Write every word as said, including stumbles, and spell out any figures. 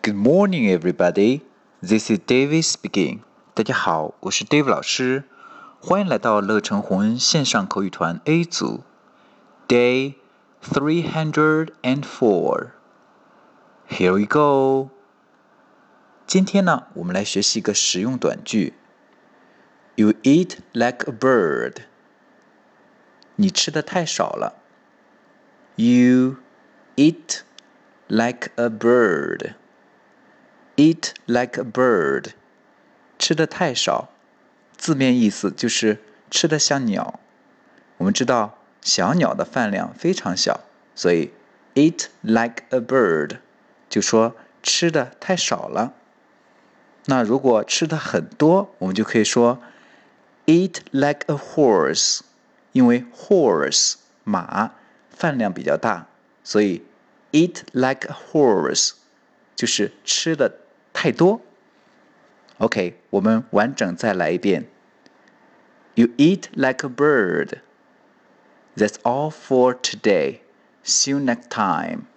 Good morning, everybody. This is David speaking. 大家好，我是 David 老师，欢迎来到乐成红恩线上口语团 A 组 Day three hundred four. Here we go. 今天呢，我们来学习一个实用短句。You eat like a bird. 你吃的太少了。You eat like a bird. Eat like a bird. 吃的太少，字面意思就是吃的像鸟。我们知道小鸟的饭量非常小，所以 eat like a bird 就说吃的太少了。那如果吃的很多，我们就可以说 eat like a horse， 因为 horse 马饭量比较大，所以 eat like a horse 就是吃的太多。OK， 我们完整再来一遍。You eat like a bird. That's all for today. See you next time.